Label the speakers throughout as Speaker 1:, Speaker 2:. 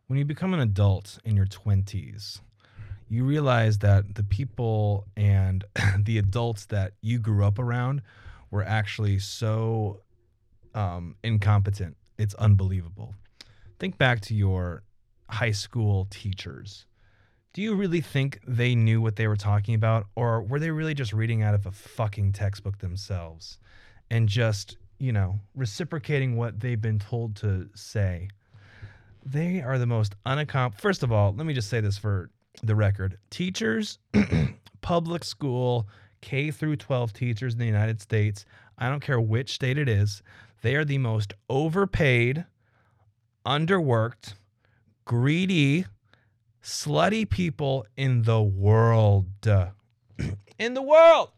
Speaker 1: when you become an adult in your 20s, you realize that the people and the adults that you grew up around were actually so incompetent. It's unbelievable. Think back to your high school teachers. Do you really think they knew what they were talking about, or were they really just reading out of a fucking textbook themselves and just, reciprocating what they've been told to say? They are the most unaccomplished. First of all, let me just say this for the record. Teachers, public school, K through 12 teachers in the United States, I don't care which state it is, they are the most overpaid, underworked, greedy, slutty people in the world. In the world.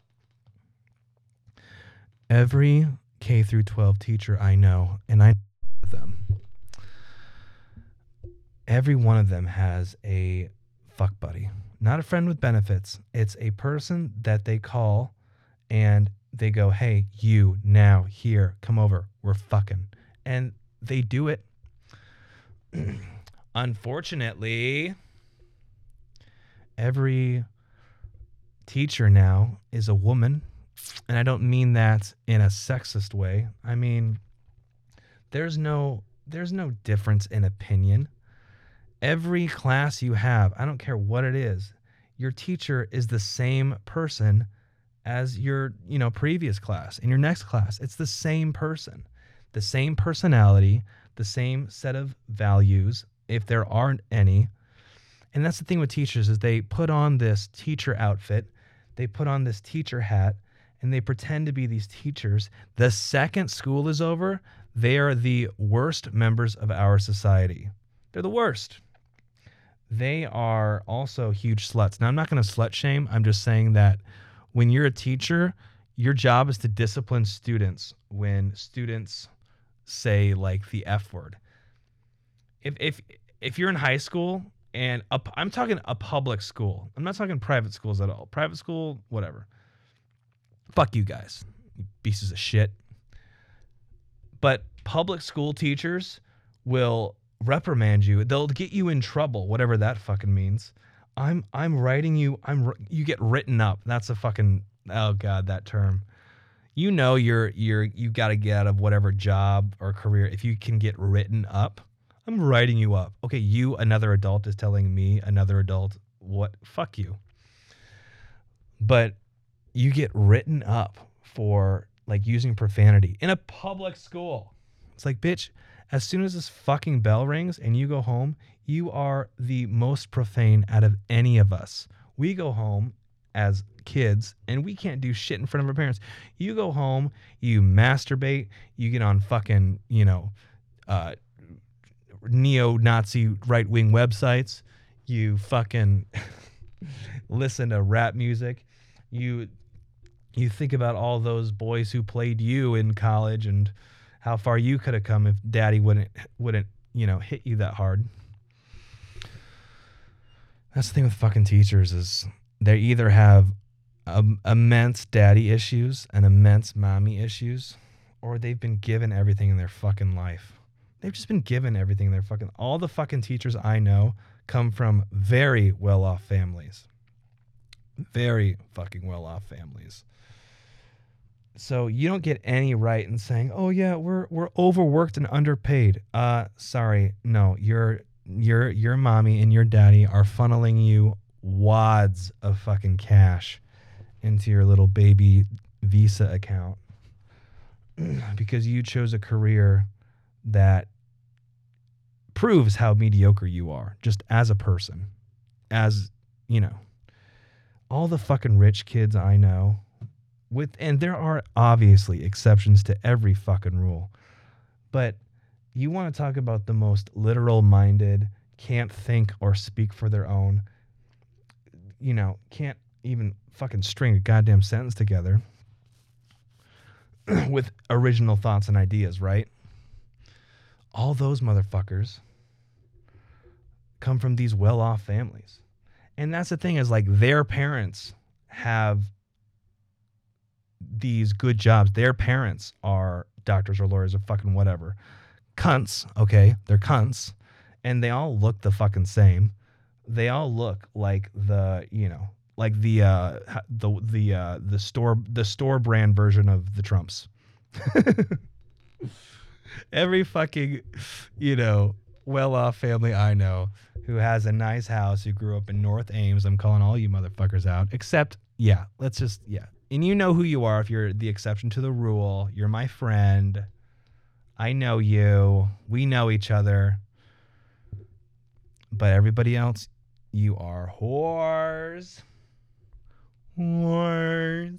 Speaker 1: Every K through 12 teacher I know, and I know them, every one of them has a fuck buddy. Not a friend with benefits. It's a person that they call and they go, hey, you, now, here, come over. We're fucking. And they do it. Unfortunately, every teacher now is a woman. And I don't mean that in a sexist way. I mean, there's no difference in opinion. Every class you have, I don't care what it is, your teacher is the same person as your, previous class. In your next class, it's the same person, the same personality, the same set of values, if there aren't any. And that's the thing with teachers is they put on this teacher outfit, they put on this teacher hat, and they pretend to be these teachers. The second school is over, they are the worst members of our society. They're the worst. They are also huge sluts. Now, I'm not going to slut shame. I'm just saying that when you're a teacher, your job is to discipline students when students say like the F word. If you're in high school and I'm talking a public school. I'm not talking private schools at all. Private school, whatever. Fuck you guys, you pieces of shit. But public school teachers will reprimand you. They'll get you in trouble, whatever that fucking means. I'm writing you. You get written up. That's a fucking, oh god, that term. You got to get out of whatever job or career if you can get written up. I'm writing you up. Okay, you, another adult, is telling me, another adult, what? Fuck you. But you get written up for like using profanity in a public school. It's like, bitch, as soon as this fucking bell rings and you go home, you are the most profane out of any of us. We go home as kids and we can't do shit in front of our parents. You go home, you masturbate, you get on fucking, neo-Nazi right-wing websites, you fucking listen to rap music, you think about all those boys who played you in college and how far you could have come if daddy wouldn't hit you that hard. That's the thing with fucking teachers is they either have immense daddy issues and immense mommy issues, or they've been given everything in their fucking life. They've just been given everything in their fucking... All the fucking teachers I know come from very well-off families. Very fucking well-off families. So you don't get any right in saying, "Oh yeah, we're overworked and underpaid." Sorry, no, your mommy and your daddy are funneling you wads of fucking cash into your little baby Visa account because you chose a career that proves how mediocre you are just as a person. As, all the fucking rich kids I know, and there are obviously exceptions to every fucking rule, but you want to talk about the most literal-minded, can't think or speak for their own, can't even fucking string a goddamn sentence together with original thoughts and ideas, right? All those motherfuckers come from these well-off families. And that's the thing is, like, their parents have these good jobs. Their parents are doctors or lawyers or fucking whatever. Cunts, okay? They're cunts. and they all look the fucking same. They all look like like the store brand version of the Trumps. Every fucking, well-off family I know who has a nice house, who grew up in North Ames, I'm calling all you motherfuckers out. Except, and you know who you are if you're the exception to the rule. You're my friend. I know you. We know each other. But everybody else, you are whores. Whores.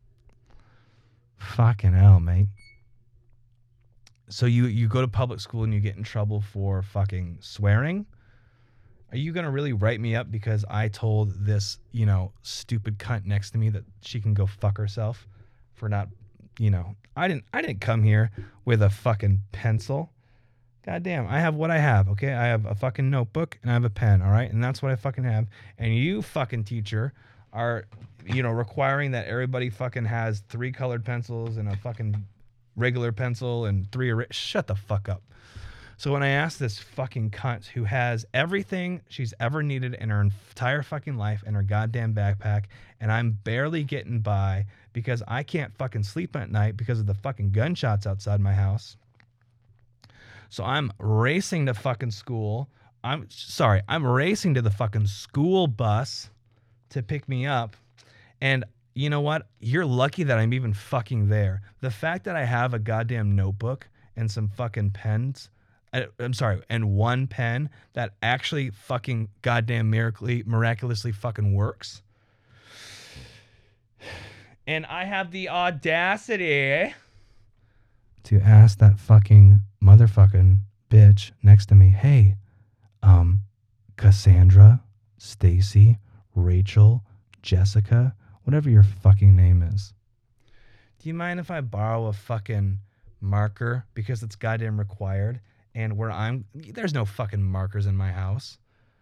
Speaker 1: Fucking hell, mate. So you go to public school and you get in trouble for fucking swearing? Are you going to really write me up because I told this, stupid cunt next to me that she can go fuck herself for not, I didn't come here with a fucking pencil. God damn, I have what I have, okay? I have a fucking notebook and I have a pen, all right? And that's what I fucking have. And you fucking teacher are, requiring that everybody fucking has 3 colored pencils and a fucking regular pencil and 3 shut the fuck up. So when I asked this fucking cunt who has everything she's ever needed in her entire fucking life in her goddamn backpack, and I'm barely getting by because I can't fucking sleep at night because of the fucking gunshots outside my house. So I'm racing to fucking school. I'm racing to the fucking school bus to pick me up. And you know what? You're lucky that I'm even fucking there. The fact that I have a goddamn notebook and some fucking pens, and 1 pen that actually fucking goddamn miraculously fucking works. And I have the audacity to ask that fucking motherfucking bitch next to me, hey, Cassandra, Stacy, Rachel, Jessica, whatever your fucking name is. Do you mind if I borrow a fucking marker because it's goddamn required? And there's no fucking markers in my house.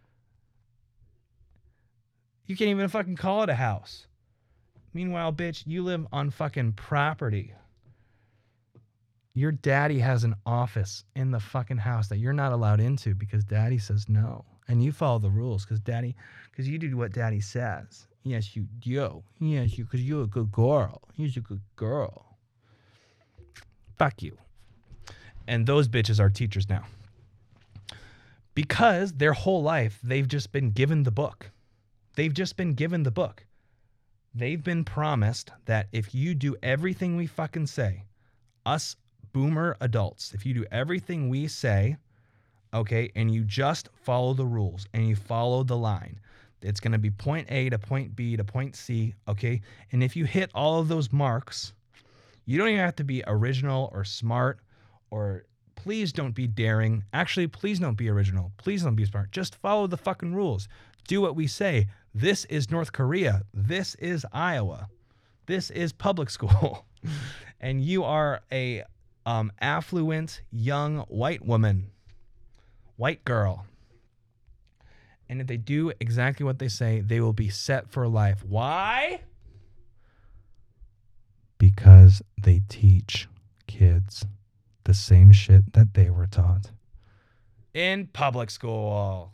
Speaker 1: You can't even fucking call it a house. Meanwhile, bitch, you live on fucking property. Your daddy has an office in the fucking house that you're not allowed into because daddy says no. And you follow the rules because you do what daddy says. Yes, you do. Yes, because you're a good girl. You're a good girl. Fuck you. And those bitches are teachers now. Because their whole life, they've just been given the book. They've just been given the book. They've been promised that if you do everything we fucking say, us boomer adults, if you do everything we say, okay, and you just follow the rules and you follow the line, it's going to be point A to point B to point C, okay? And if you hit all of those marks, you don't even have to be original or smart, or please don't be daring. Actually, please don't be original. Please don't be smart. Just follow the fucking rules. Do what we say. This is North Korea. This is Iowa. This is public school. And you are a affluent young white woman, white girl. And if they do exactly what they say, they will be set for life. Why? Because they teach kids the same shit that they were taught in public school.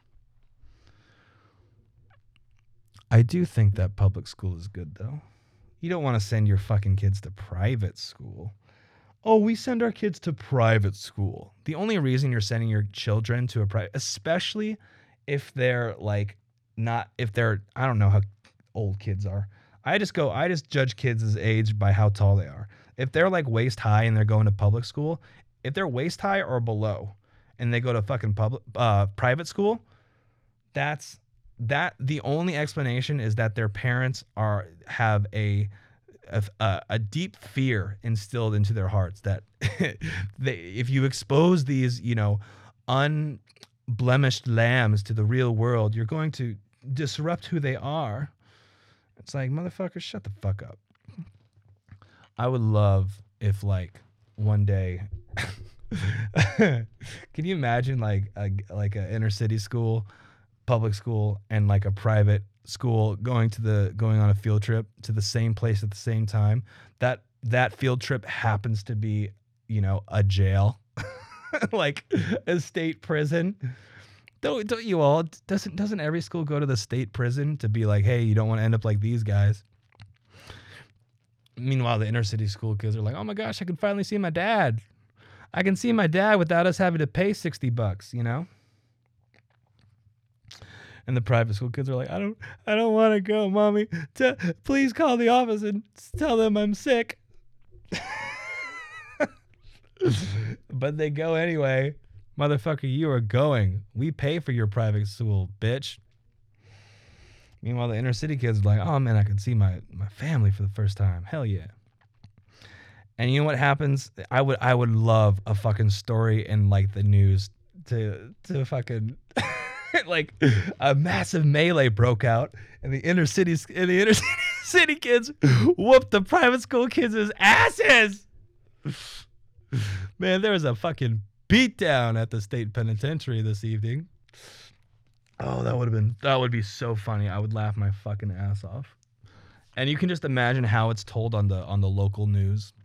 Speaker 1: I do think that public school is good, though. You don't want to send your fucking kids to private school. Oh, we send our kids to private school. The only reason you're sending your children to a private, especially if they're I don't know how old kids are. I just judge kids' age by how tall they are. If they're like waist high and they're going to public school, if they're waist high or below and they go to fucking private school, the only explanation is that their parents have a deep fear instilled into their hearts that if you expose these, unblemished lambs to the real world, you're going to disrupt who they are. It's like, motherfucker, shut the fuck up. I would love if one day, can you imagine like a inner city school, public school, and like a private school going on a field trip to the same place at the same time? That field trip happens to be, a jail. like a state prison. Don't you all? Doesn't every school go to the state prison to be like, hey, you don't want to end up like these guys? Meanwhile, the inner city school kids are like, oh my gosh, I can finally see my dad. I can see my dad without us having to pay $60, you know? And the private school kids are like, I don't want to go, mommy. Please call the office and tell them I'm sick. But they go anyway. Motherfucker, you are going. We pay for your private school, bitch. Meanwhile, the inner city kids are like, oh man, I can see my family for the first time. Hell yeah. And you know what happens? I would love a fucking story in like the news to fucking like a massive melee broke out and the inner city kids whooped the private school kids' asses. Man, there was a fucking beatdown at the state penitentiary this evening. Oh, that would be so funny. I would laugh my fucking ass off. And you can just imagine how it's told on the local news.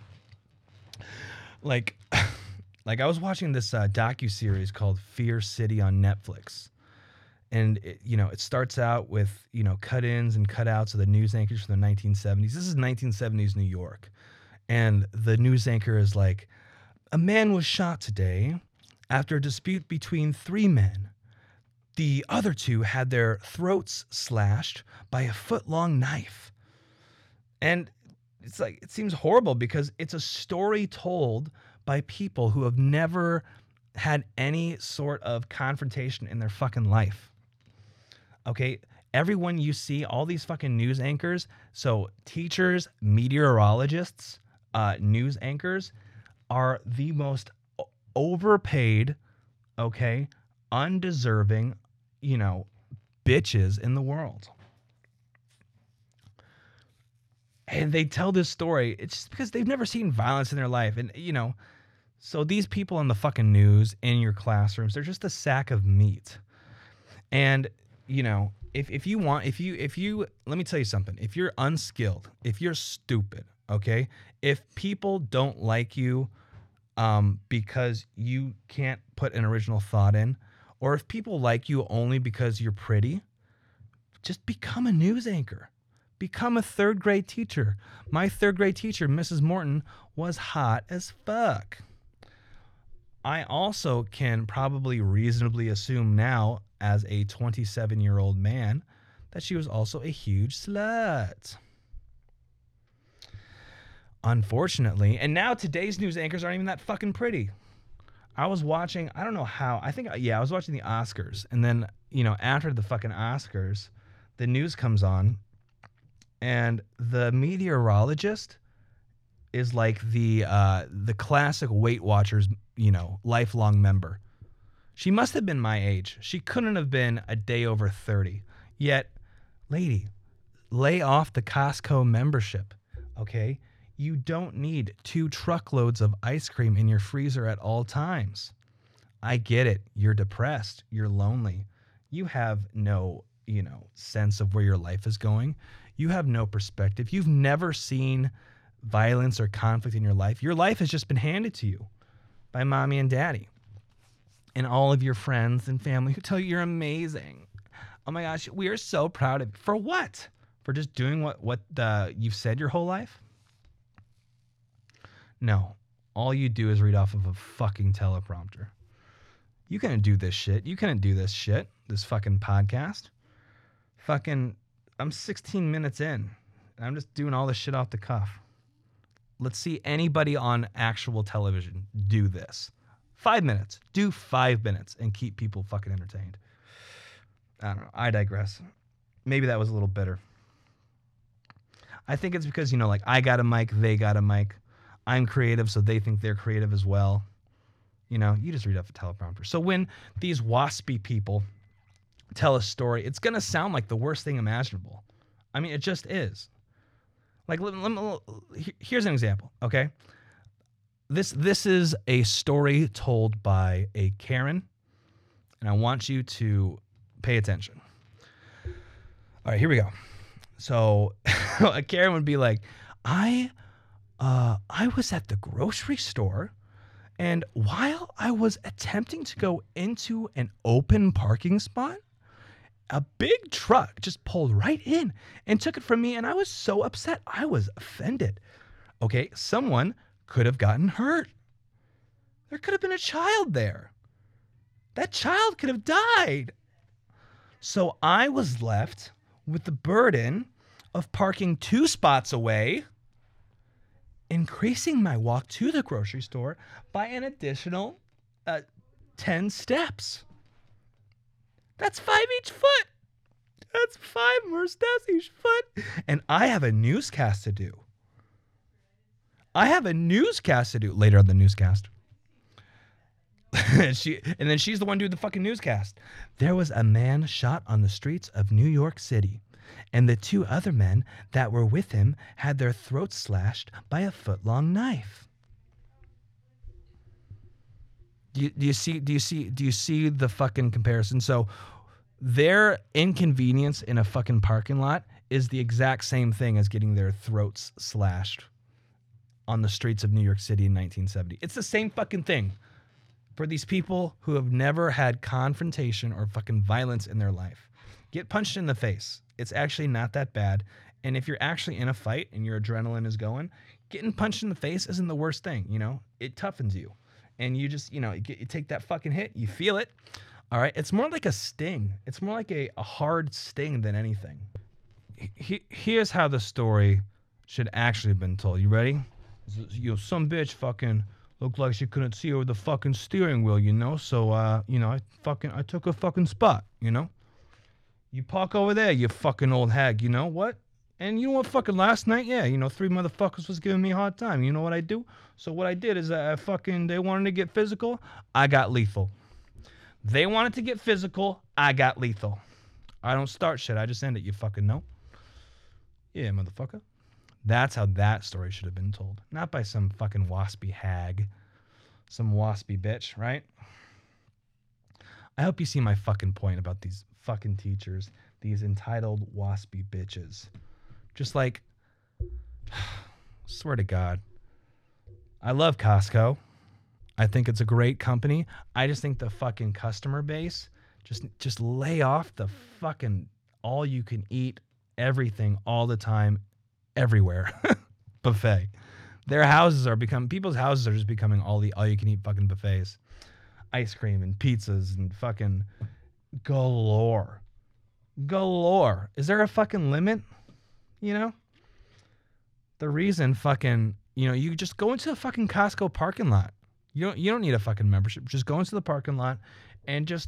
Speaker 1: Like I was watching this docuseries called Fear City on Netflix. And it starts out with, cut-ins and cutouts of the news anchors from the 1970s. This is 1970s New York. And the news anchor is like, a man was shot today after a dispute between 3 men. The other 2 had their throats slashed by a foot-long knife. And it's like, it seems horrible because it's a story told by people who have never had any sort of confrontation in their fucking life. Okay? Everyone you see, all these fucking news anchors, so teachers, meteorologists, news anchors are the most overpaid, okay, undeserving, bitches in the world. And they tell this story, it's just because they've never seen violence in their life. And, so these people on the fucking news in your classrooms, they're just a sack of meat. And, if you let me tell you something. If you're unskilled, if you're stupid, okay, if people don't like you because you can't put an original thought in, or if people like you only because you're pretty, just become a news anchor. Become a 3rd grade teacher. My 3rd grade teacher, Mrs. Morton, was hot as fuck. I also can probably reasonably assume now, as a 27-year-old man, that she was also a huge slut. Unfortunately, and now today's news anchors aren't even that fucking pretty. I was watching, I don't know how, I was watching the Oscars, and then, after the fucking Oscars, the news comes on, and the meteorologist is like the classic Weight Watchers, lifelong member. She must have been my age. She couldn't have been a day over 30. Yet, lady, lay off the Costco membership, okay? You don't need 2 truckloads of ice cream in your freezer at all times. I get it. You're depressed. You're lonely. You have no, sense of where your life is going. You have no perspective. You've never seen violence or conflict in your life. Your life has just been handed to you by mommy and daddy and all of your friends and family who tell you you're amazing. Oh my gosh, we are so proud of you. For what? For just doing what you've said your whole life? No. All you do is read off of a fucking teleprompter. You couldn't do this shit. You couldn't do this shit. This fucking podcast. I'm 16 minutes in. And I'm just doing all this shit off the cuff. Let's see anybody on actual television do this. 5 minutes. Do 5 minutes and keep people fucking entertained. I don't know. I digress. Maybe that was a little bitter. I think it's because, I got a mic, they got a mic. I'm creative, so they think they're creative as well. You just read off a teleprompter. So when these waspy people tell a story, it's going to sound like the worst thing imaginable. I mean, it just is. Like, here's an example, okay? This is a story told by a Karen, and I want you to pay attention. All right, here we go. So a Karen would be like, I was at the grocery store, And while I was attempting to go into an open parking spot, a big truck just pulled right in and took it from me. And I was so upset. I was offended. Okay, someone could have gotten hurt. There could have been a child there. That child could have died. So I was left with the burden of parking 2 spots away, increasing my walk to the grocery store by an additional 10 steps. That's 5 each foot. That's 5 more steps each foot. And I have a newscast to do. Later on the newscast. And then she's the one doing the fucking newscast. There was a man shot on the streets of New York City, and the 2 other men that were with him had their throats slashed by a foot-long knife. Do you see the fucking comparison? So their inconvenience in a fucking parking lot is the exact same thing as getting their throats slashed on the streets of New York City in 1970. It's the same fucking thing. For these people who have never had confrontation or fucking violence in their life. Get punched in the face. It's actually not that bad. And if you're actually in a fight and your adrenaline is going, getting punched in the face isn't the worst thing, you know? It toughens you. And you just, you take that fucking hit, you feel it. All right? It's more like a sting. It's more like a hard sting than anything. Here's how the story should actually have been told. You ready? Some bitch fucking looked like she couldn't see over the fucking steering wheel, So, I took a fucking spot, You park over there, you fucking old hag, you know what? And you know what, fucking last night, 3 motherfuckers was giving me a hard time. You know what I do? So what I did is they wanted to get physical, I got lethal. They wanted to get physical, I got lethal. I don't start shit, I just end it, you fucking know? Yeah, motherfucker. That's how that story should have been told. Not by some fucking waspy hag. Some waspy bitch, right? I hope you see my fucking point about these fucking teachers. These entitled waspy bitches. Just like, swear to God. I love Costco. I think it's a great company. I just think the fucking customer base, just lay off the fucking all you can eat everything all the time. Everywhere buffet. People's houses are just becoming all you can eat fucking buffets. Ice cream and pizzas and fucking galore. Is there a fucking limit? The reason fucking, you just go into a fucking Costco parking lot. You don't need a fucking membership. Just go into the parking lot and just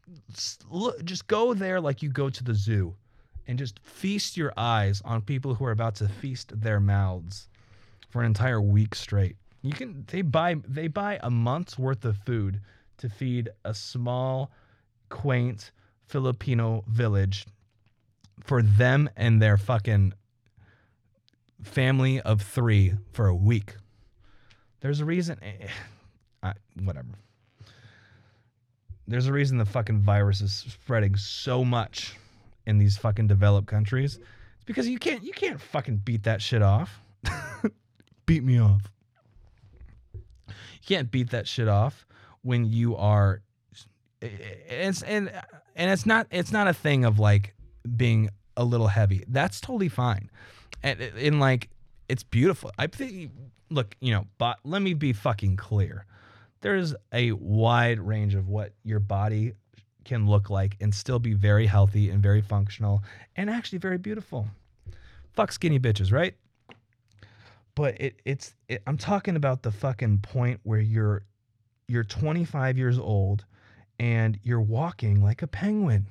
Speaker 1: go there like you go to the zoo. And just feast your eyes on people who are about to feast their mouths for an entire week straight. They buy a month's worth of food to feed a small, quaint Filipino village for them and their fucking family of 3 for a week. There's a reason. Whatever. There's a reason the fucking virus is spreading so much in these fucking developed countries. It's because you can't fucking beat that shit off. Beat me off. You can't beat that shit off when you are it's not a thing of like being a little heavy. That's totally fine. And like it's beautiful. I think look, but let me be fucking clear. There's a wide range of what your body can look like and still be very healthy and very functional and actually very beautiful. Fuck skinny bitches, right? But I'm talking about the fucking point where you're 25 years old and you're walking like a penguin.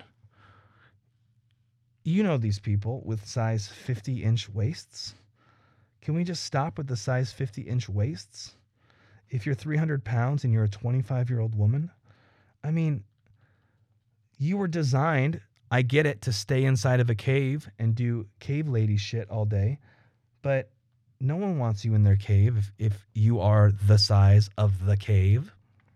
Speaker 1: You know these people with size 50-inch waists. Can we just stop with the size 50-inch waists? If you're 300 pounds and you're a 25-year-old woman, I mean, you were designed, I get it, to stay inside of a cave and do cave lady shit all day, but no one wants you in their cave if you are the size of the cave.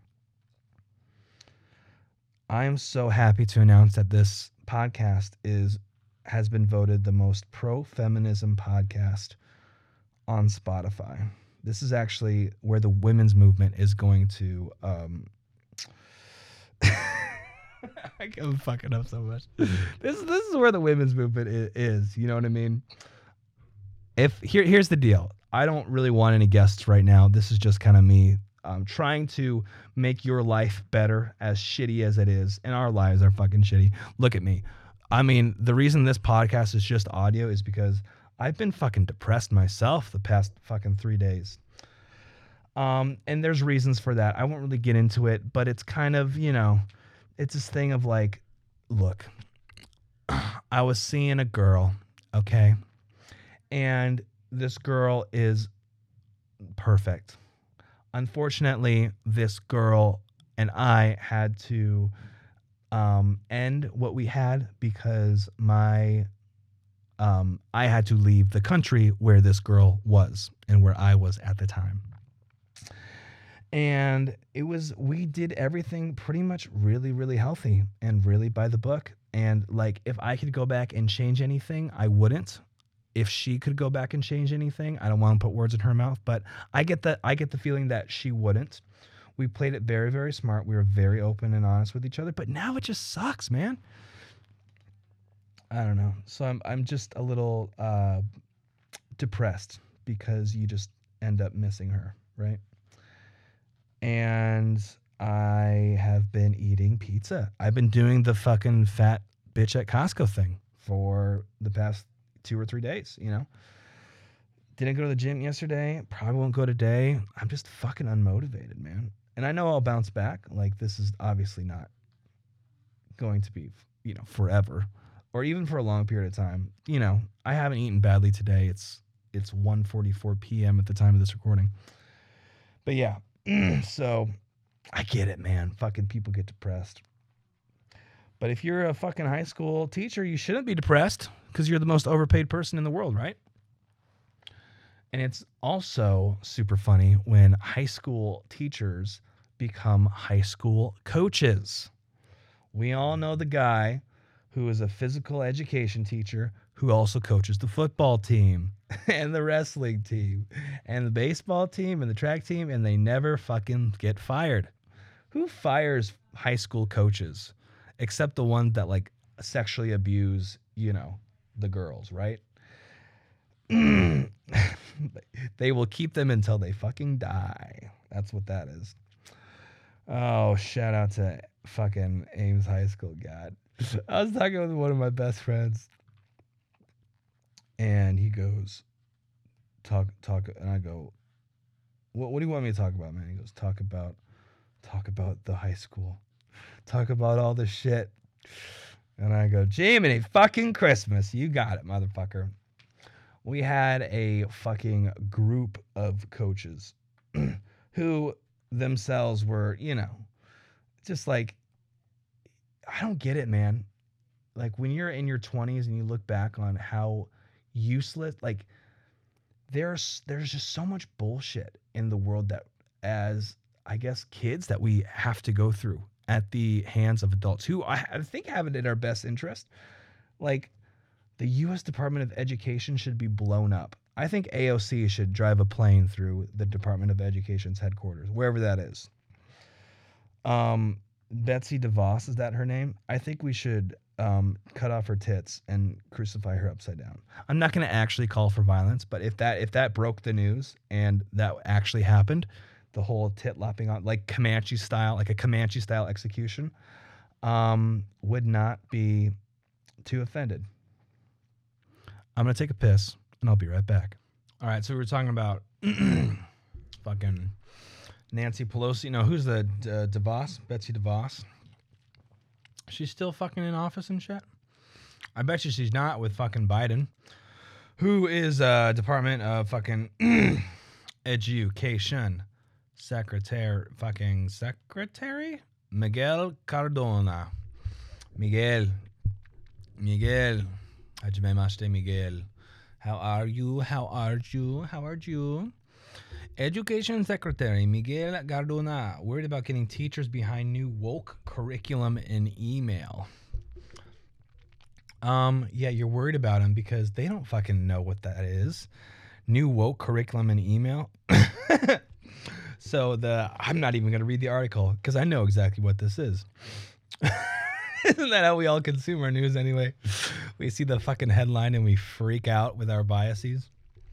Speaker 1: I am so happy to announce that this podcast has been voted the most pro-feminism podcast on Spotify. This is actually where the women's movement is going to. I'm fucking up so much. This is where the women's movement is. You know what I mean? Here's the deal. I don't really want any guests right now. This is just kind of me trying to make your life better, as shitty as it is. And our lives are fucking shitty. Look at me. I mean, the reason this podcast is just audio is because I've been fucking depressed myself the past fucking 3 days. And there's reasons for that. I won't really get into it, but it's kind of, it's this thing of like, look, I was seeing a girl, okay? And this girl is perfect. Unfortunately, this girl and I had to end what we had because I had to leave the country where this girl was and where I was at the time. And we did everything pretty much really, really healthy and really by the book. And like, if I could go back and change anything, I wouldn't. If she could go back and change anything, I don't want to put words in her mouth, but I get the feeling that she wouldn't. We played it very, very smart. We were very open and honest with each other, but now it just sucks, man. I don't know. So I'm just a little depressed because you just end up missing her, right? And I have been eating pizza. I've been doing the fucking fat bitch at Costco thing for the past 2 or 3 days, Didn't go to the gym yesterday. Probably won't go today. I'm just fucking unmotivated, man. And I know I'll bounce back. Like, this is obviously not going to be, forever or even for a long period of time. I haven't eaten badly today. It's 1:44 p.m. at the time of this recording. But yeah, so I get it, man. Fucking people get depressed. But if you're a fucking high school teacher, you shouldn't be depressed because you're the most overpaid person in the world, right? And it's also super funny when high school teachers become high school coaches. We all know the guy who is a physical education teacher who also coaches the football team and the wrestling team and the baseball team and the track team, and they never fucking get fired. Who fires high school coaches? Except the ones that like sexually abuse, the girls, right? They will keep them until they fucking die. That's what that is. Oh, shout out to fucking Ames High School. God. I was talking with one of my best friends and he goes, talk. And I go, what do you want me to talk about, man? He goes, talk about the high school. Talk about all the shit. And I go, Jiminy fucking Christmas. You got it, motherfucker. We had a fucking group of coaches who themselves were, just like, I don't get it, man. Like when you're in your 20s and you look back on how useless, like there's just so much bullshit in the world that as, I guess, kids that we have to go through at the hands of adults who I think have it in our best interest. Like the U.S. Department of Education should be blown up. I think AOC should drive a plane through the Department of Education's headquarters, wherever that is. Betsy DeVos, is that her name? I think we should cut off her tits and crucify her upside down. I'm not going to actually call for violence, but if that broke the news and that actually happened, the whole tit lopping on, like Comanche style, like a Comanche style execution, would not be too offended. I'm going to take a piss and I'll be right back. All right. So we were talking about fucking Nancy Pelosi. No, who's the DeVos? Betsy DeVos. She's still fucking in office and shit. I bet you she's not with fucking Biden, who is Department of fucking Education Secretary Miguel Cardona. Miguel. Hajimemashite, Miguel. How are you? Education Secretary Miguel Cardona worried about getting teachers behind new woke curriculum in email. Yeah, you're worried about them because they don't fucking know what that is. New woke curriculum and email. So I'm not even going to read the article because I know exactly what this is. Isn't that how we all consume our news anyway? We see the fucking headline and we freak out with our biases.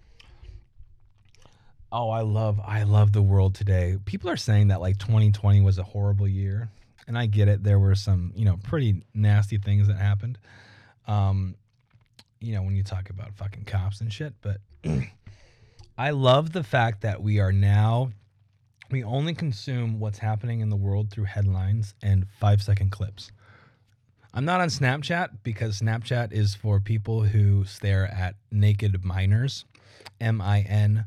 Speaker 1: Oh, I love the world today. People are saying that like 2020 was a horrible year, and I get it. There were some, pretty nasty things that happened. When you talk about fucking cops and shit, but I love the fact that we only consume what's happening in the world through headlines and 5-second clips. I'm not on Snapchat because Snapchat is for people who stare at naked minors, MINORS,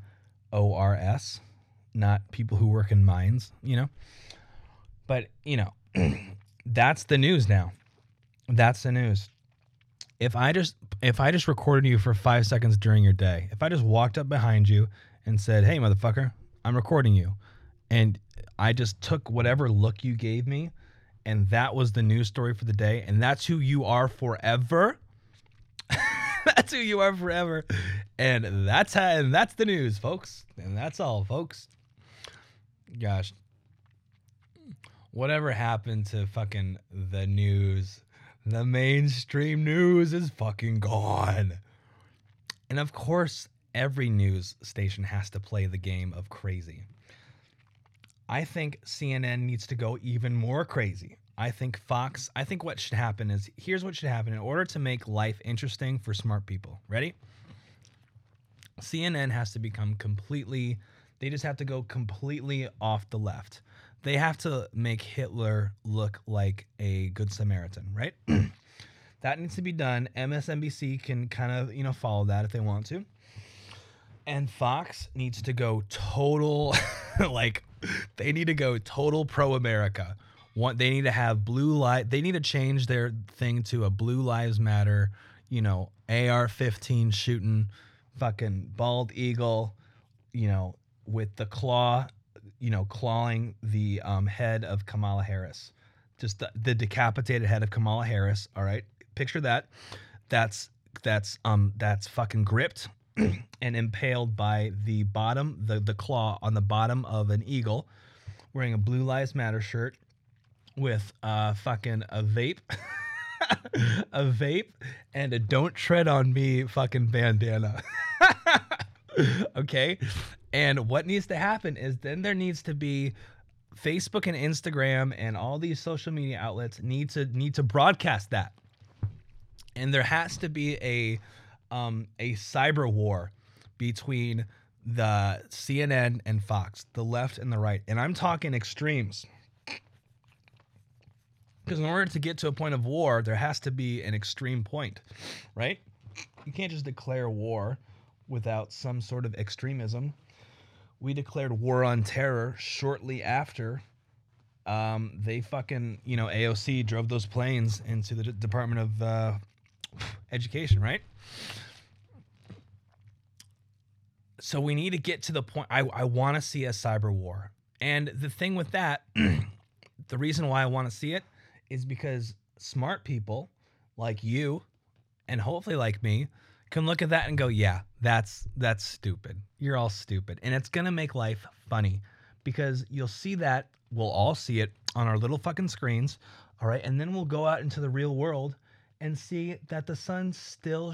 Speaker 1: not people who work in mines, But, that's the news now. That's the news. If I just recorded you for 5 seconds during your day, if I just walked up behind you and said, "Hey, motherfucker, I'm recording you," and I just took whatever look you gave me, and that was the news story for the day, and that's who you are forever. That's who you are forever. And that's the news, folks. And that's all, folks. Gosh. Whatever happened to fucking the news? The mainstream news is fucking gone. And of course, every news station has to play the game of crazy. I think CNN needs to go even more crazy. I think Fox, what should happen is, here's what should happen in order to make life interesting for smart people. Ready? CNN has to become they just have to go completely off the left. They have to make Hitler look like a good Samaritan, right? That needs to be done. MSNBC can kind of, follow that if they want to. And Fox needs to go total, they need to go total pro-America. They need to have they need to change their thing to a Blue Lives Matter, AR-15 shooting fucking bald eagle, with the claw, clawing the head of Kamala Harris. Just the decapitated head of Kamala Harris, all right? Picture that. That's fucking gripped and impaled by the bottom, the claw on the bottom of an eagle, wearing a Blue Lives Matter shirt with fucking a vape, a vape, and a "Don't Tread on Me" fucking bandana. Okay? And what needs to happen is then there needs to be Facebook and Instagram and all these social media outlets need to broadcast that. And there has to be a cyber war between the CNN and Fox, the left and the right. And I'm talking extremes. Because in order to get to a point of war, there has to be an extreme point, right? You can't just declare war without some sort of extremism. We declared war on terror shortly after they fucking, AOC drove those planes into the Department of Education, right? So we need to get to the point. I want to see a cyber war. And the thing with that, the reason why I want to see it is because smart people like you and hopefully like me can look at that and go, yeah, that's stupid. You're all stupid. And it's going to make life funny because you'll see that. We'll all see it on our little fucking screens. All right. And then we'll go out into the real world and see that the sun still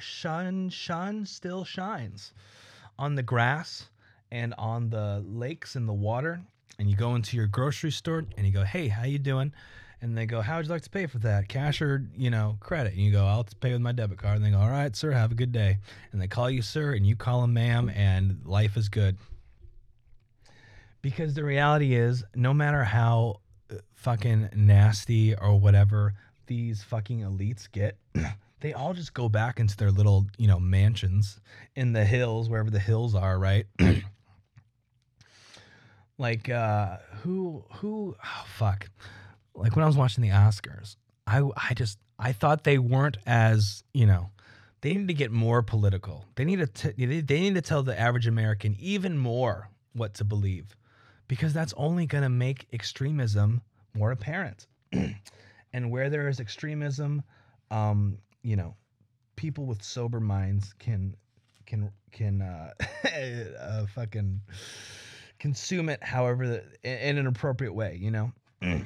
Speaker 1: still shines on the grass and on the lakes and the water. And you go into your grocery store and you go, "Hey, how you doing?" And they go, "How would you like to pay for that? Cash or, credit?" And you go, "I'll pay with my debit card." And they go, "All right, sir, have a good day." And they call you sir and you call them ma'am, and life is good. Because the reality is, no matter how fucking nasty or whatever these fucking elites get, they all just go back into their little, mansions in the hills, wherever the hills are, right? Like, oh, fuck. Like when I was watching the Oscars, I thought they weren't as, they need to get more political. They need to tell the average American even more what to believe, because that's only going to make extremism more apparent. And where there is extremism, people with sober minds can fucking consume it however in an appropriate way, you know.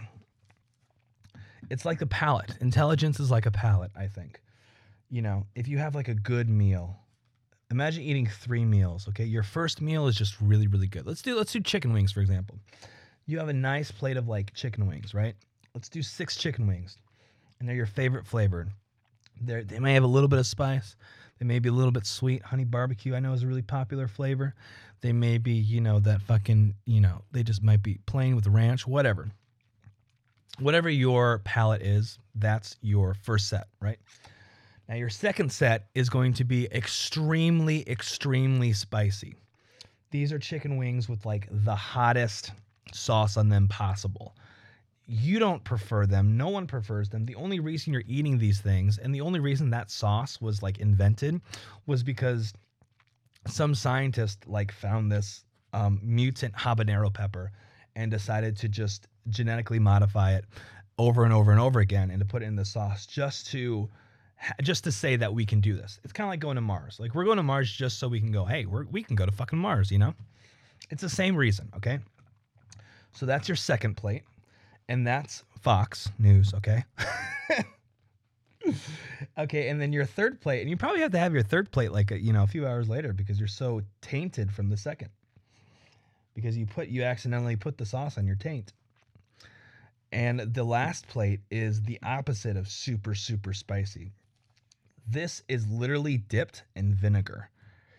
Speaker 1: It's like the palate. Intelligence is like a palate, I think. You know, if you have like a good meal, imagine eating 3 meals, okay? Your first meal is just really, really good. Let's do chicken wings, for example. You have a nice plate of like chicken wings, right? Let's do 6 chicken wings, and they're your favorite flavor. They may have a little bit of spice. They may be a little bit sweet. Honey barbecue, I know, is a really popular flavor. They may be, you know, that fucking, you know, they just might be plain with ranch, whatever. Whatever your palate is, that's your first set, right? Now, your second set is going to be extremely, extremely spicy. These are chicken wings with like the hottest sauce on them possible. You don't prefer them. No one prefers them. The only reason you're eating these things, and the only reason that sauce was like invented, was because some scientist like found this mutant habanero pepper and decided to just genetically modify it over and over and over again and to put it in the sauce just to say that we can do this. It's kind of like going to Mars. Like, we're going to Mars just so we can go, hey, we can go to fucking Mars, you know? It's the same reason, okay? So that's your second plate. And that's Fox News, okay? Okay, and then your third plate, and you probably have to have your third plate like a few hours later because you're so tainted from the second. Because you accidentally put the sauce on your taint. And the last plate is the opposite of super, super spicy. This is literally dipped in vinegar.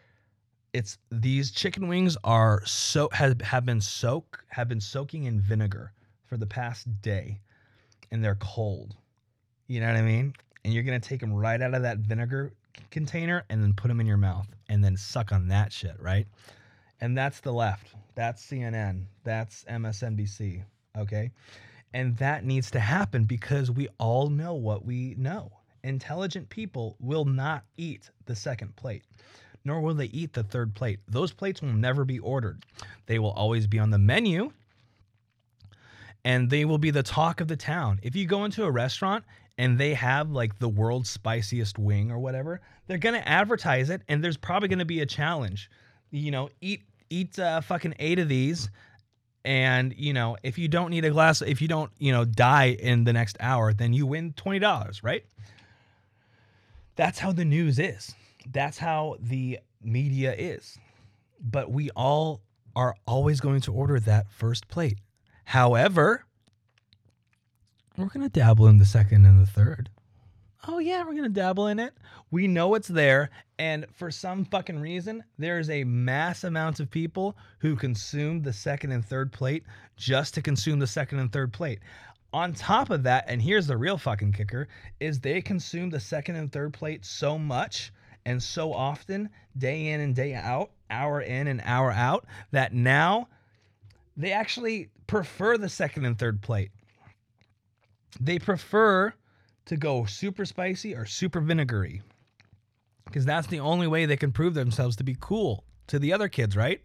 Speaker 1: These chicken wings are have been soaking in vinegar for the past day, and they're cold. You know what I mean? And you're gonna take them right out of that vinegar container and then put them in your mouth and then suck on that shit, right? And that's the left. That's CNN. That's MSNBC. Okay? And that needs to happen because we all know what we know. Intelligent people will not eat the second plate, nor will they eat the third plate. Those plates will never be ordered. They will always be on the menu, and they will be the talk of the town. If you go into a restaurant and they have like the world's spiciest wing or whatever, they're going to advertise it, and there's probably going to be a challenge. You know, eat fucking 8 of these. And, you know, if you don't die in the next hour, then you win $20, right? That's how the news is. That's how the media is. But we all are always going to order that first plate. However, we're going to dabble in the second and the third. Oh, yeah, we're going to dabble in it. We know it's there. And for some fucking reason, there's a mass amount of people who consume the second and third plate just to consume the second and third plate. On top of that, and here's the real fucking kicker, is they consume the second and third plate so much and so often, day in and day out, hour in and hour out, that now they actually prefer the second and third plate. They prefer to go super spicy or super vinegary, because that's the only way they can prove themselves to be cool to the other kids, right?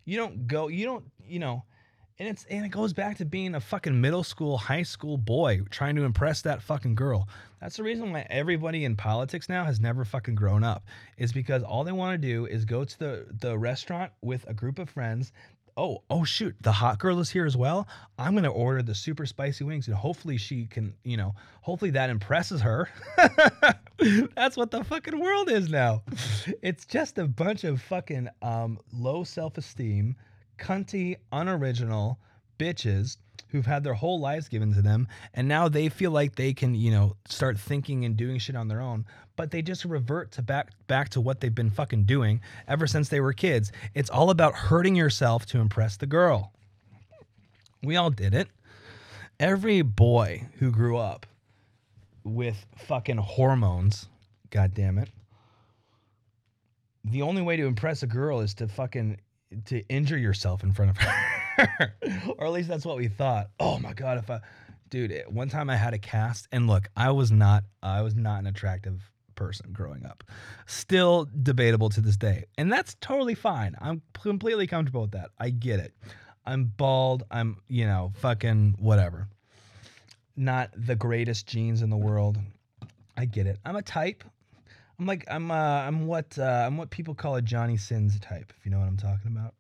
Speaker 1: And it goes back to being a fucking middle school, high school boy trying to impress that fucking girl. That's the reason why everybody in politics now has never fucking grown up, is because all they want to do is go to the restaurant with a group of friends. Oh shoot, the hot girl is here as well. I'm going to order the super spicy wings, and hopefully she can, hopefully that impresses her. That's what the fucking world is now. It's just a bunch of fucking low self-esteem, cunty, unoriginal bitches who've had their whole lives given to them, and now they feel like they can, start thinking and doing shit on their own, but they just revert to back to what they've been fucking doing ever since they were kids. It's all about hurting yourself to impress the girl. We all did it. Every boy who grew up with fucking hormones, god damn it, the only way to impress a girl is to injure yourself in front of her. Or at least that's what we thought. Oh my god, one time I had a cast, and look, I was not an attractive person growing up. Still debatable to this day. And that's totally fine. I'm completely comfortable with that. I get it. I'm bald. I'm, fucking whatever. Not the greatest genes in the world. I get it. I'm a type. I'm what people call a Johnny Sins type, if you know what I'm talking about.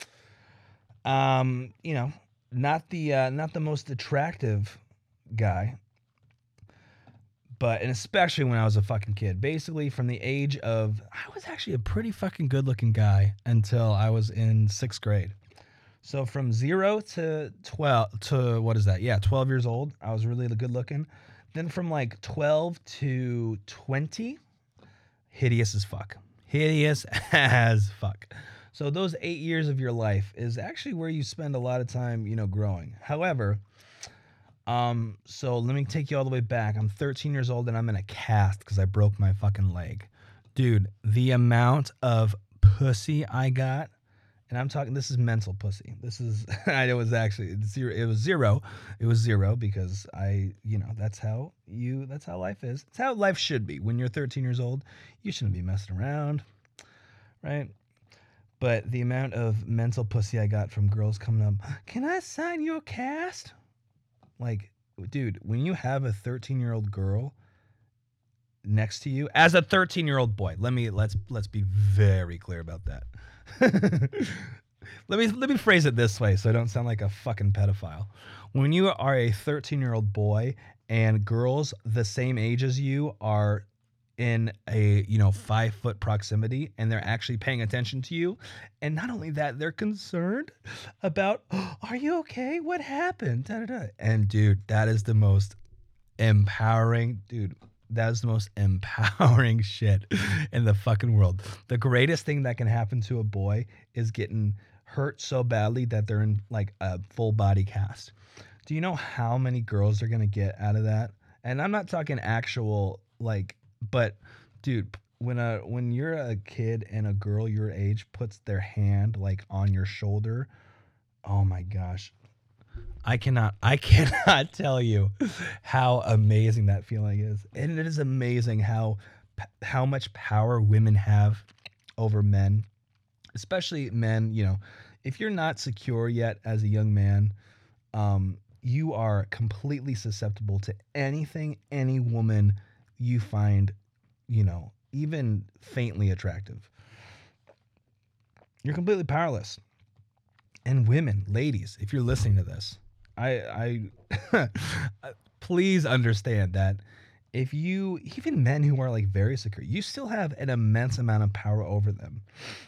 Speaker 1: You know, not the most attractive guy, but and especially when I was a fucking kid. Basically, from the age of I was actually a pretty fucking good looking guy until I was in 6th grade. So from 0 to 12 to what is that? Yeah, 12 years old, I was really good looking. Then from like 12 to 20, hideous as fuck. Hideous as fuck. So those 8 years of your life is actually where you spend a lot of time, growing. However, so let me take you all the way back. I'm 13 years old and I'm in a cast because I broke my fucking leg. Dude, the amount of pussy I got, and I'm talking, this is mental pussy. This is, I was actually zero. It was zero. It was zero because that's how life is. It's how life should be. When you're 13 years old, you shouldn't be messing around, right? But the amount of mental pussy I got from girls coming up, can I sign your cast? Like, dude, when you have a 13-year-old girl next to you as a 13-year-old boy, let's be very clear about that. let me phrase it this way so I don't sound like a fucking pedophile. When you are a 13-year-old boy and girls the same age as you are in a 5-foot proximity and they're actually paying attention to you, and not only that, they're concerned about, oh, are you okay, what happened, da, da, da. And dude, that is the most empowering shit in the fucking world. The greatest thing that can happen to a boy is getting hurt so badly that they're in like a full body cast. Do you know how many girls are gonna get out of that? And I'm not talking actual but dude, when you're a kid and a girl your age puts their hand like on your shoulder, oh my gosh. I cannot tell you how amazing that feeling is. And it is amazing how much power women have over men, especially men, if you're not secure yet as a young man, you are completely susceptible to anything any woman you find, even faintly attractive. You're completely powerless. And women, ladies, if you're listening to this, I please understand that even men who are like very secure, you still have an immense amount of power over them.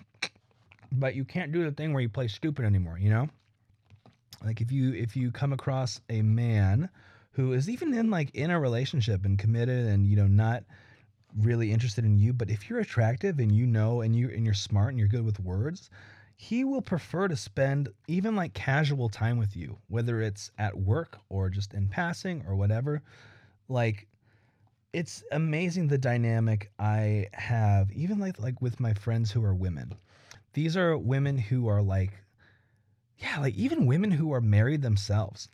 Speaker 1: But you can't do the thing where you play stupid anymore, Like if you come across a man who is even in a relationship and committed and not really interested in you, but if you're attractive and and you're smart and you're good with words, he will prefer to spend even like casual time with you, whether it's at work or just in passing or whatever. Like, it's amazing the dynamic I have, even like with my friends who are women. These are women who are even women who are married themselves.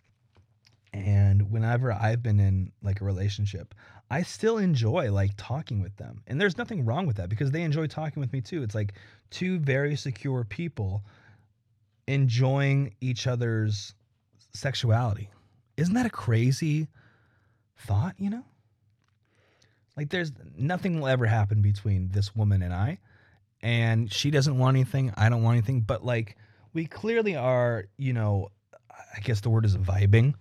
Speaker 1: And whenever I've been in like a relationship, I still enjoy like talking with them. And there's nothing wrong with that because they enjoy talking with me too. It's like two very secure people enjoying each other's sexuality. Isn't that a crazy thought, Like there's nothing will ever happen between this woman and I. And she doesn't want anything, I don't want anything, but like we clearly are, I guess the word is vibing.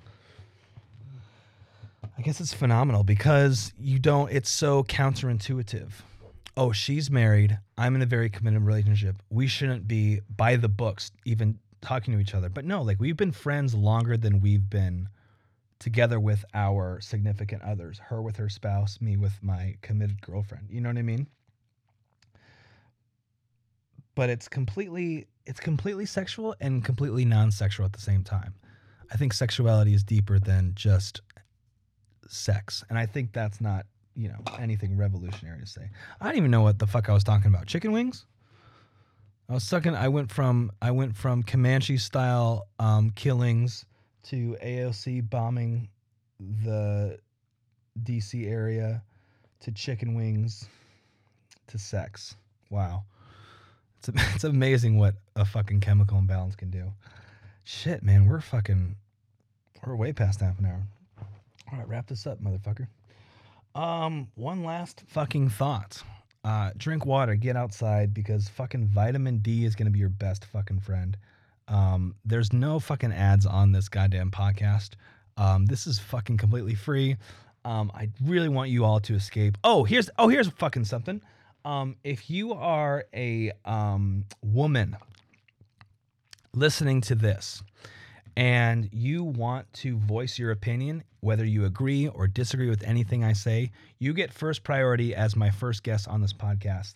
Speaker 1: I guess it's phenomenal because it's so counterintuitive. Oh, she's married. I'm in a very committed relationship. We shouldn't be by the books even talking to each other. But no, like we've been friends longer than we've been together with our significant others. Her with her spouse, me with my committed girlfriend. You know what I mean? But it's completely sexual and completely non-sexual at the same time. I think sexuality is deeper than just sex. And I think that's not, anything revolutionary to say. I don't even know what the fuck I was talking about. Chicken wings? I went from Comanche style killings to AOC bombing the DC area to chicken wings to sex. Wow. It's amazing what a fucking chemical imbalance can do. Shit, man, we're way past half an hour. All right, wrap this up, motherfucker. One last fucking thought. Drink water, get outside, because fucking vitamin D is going to be your best fucking friend. There's no fucking ads on this goddamn podcast. This is fucking completely free. I really want you all to escape. Here's fucking something. If you are a woman listening to this and you want to voice your opinion, whether you agree or disagree with anything I say, you get first priority as my first guest on this podcast.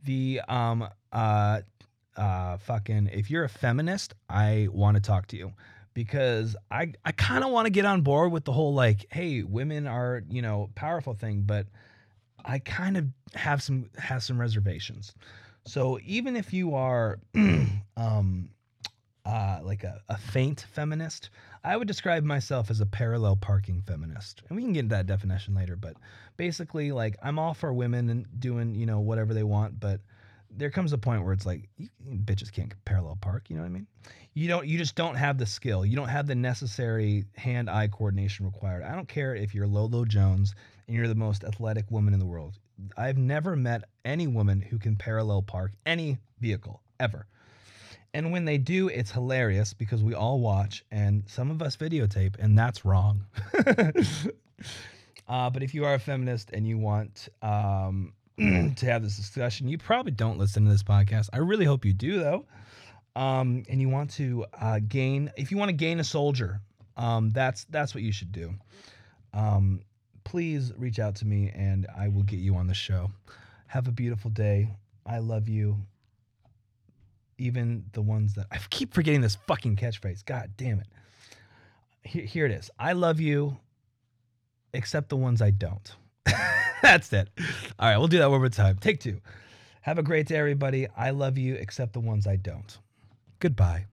Speaker 1: If you're a feminist, I want to talk to you, because I kind of want to get on board with the whole, like, hey, women are, powerful thing, but I kind of have some reservations. So even if you are like a faint feminist, I would describe myself as a parallel parking feminist. And we can get into that definition later, but basically, like, I'm all for women and doing, whatever they want, but there comes a point where it's like, bitches can't parallel park, you know what I mean? You just don't have the skill. You don't have the necessary hand-eye coordination required. I don't care if you're Lolo Jones and you're the most athletic woman in the world. I've never met any woman who can parallel park any vehicle, ever. And when they do, it's hilarious because we all watch and some of us videotape, and that's wrong. But if you are a feminist and you want to have this discussion, you probably don't listen to this podcast. I really hope you do, though. And you want to if you want to gain a soldier, that's what you should do. Please reach out to me and I will get you on the show. Have a beautiful day. I love you. Even the ones that I keep forgetting this fucking catchphrase. God damn it. Here it is. I love you, except the ones I don't. That's it. All right, we'll do that one more time. Take two. Have a great day, everybody. I love you, except the ones I don't. Goodbye.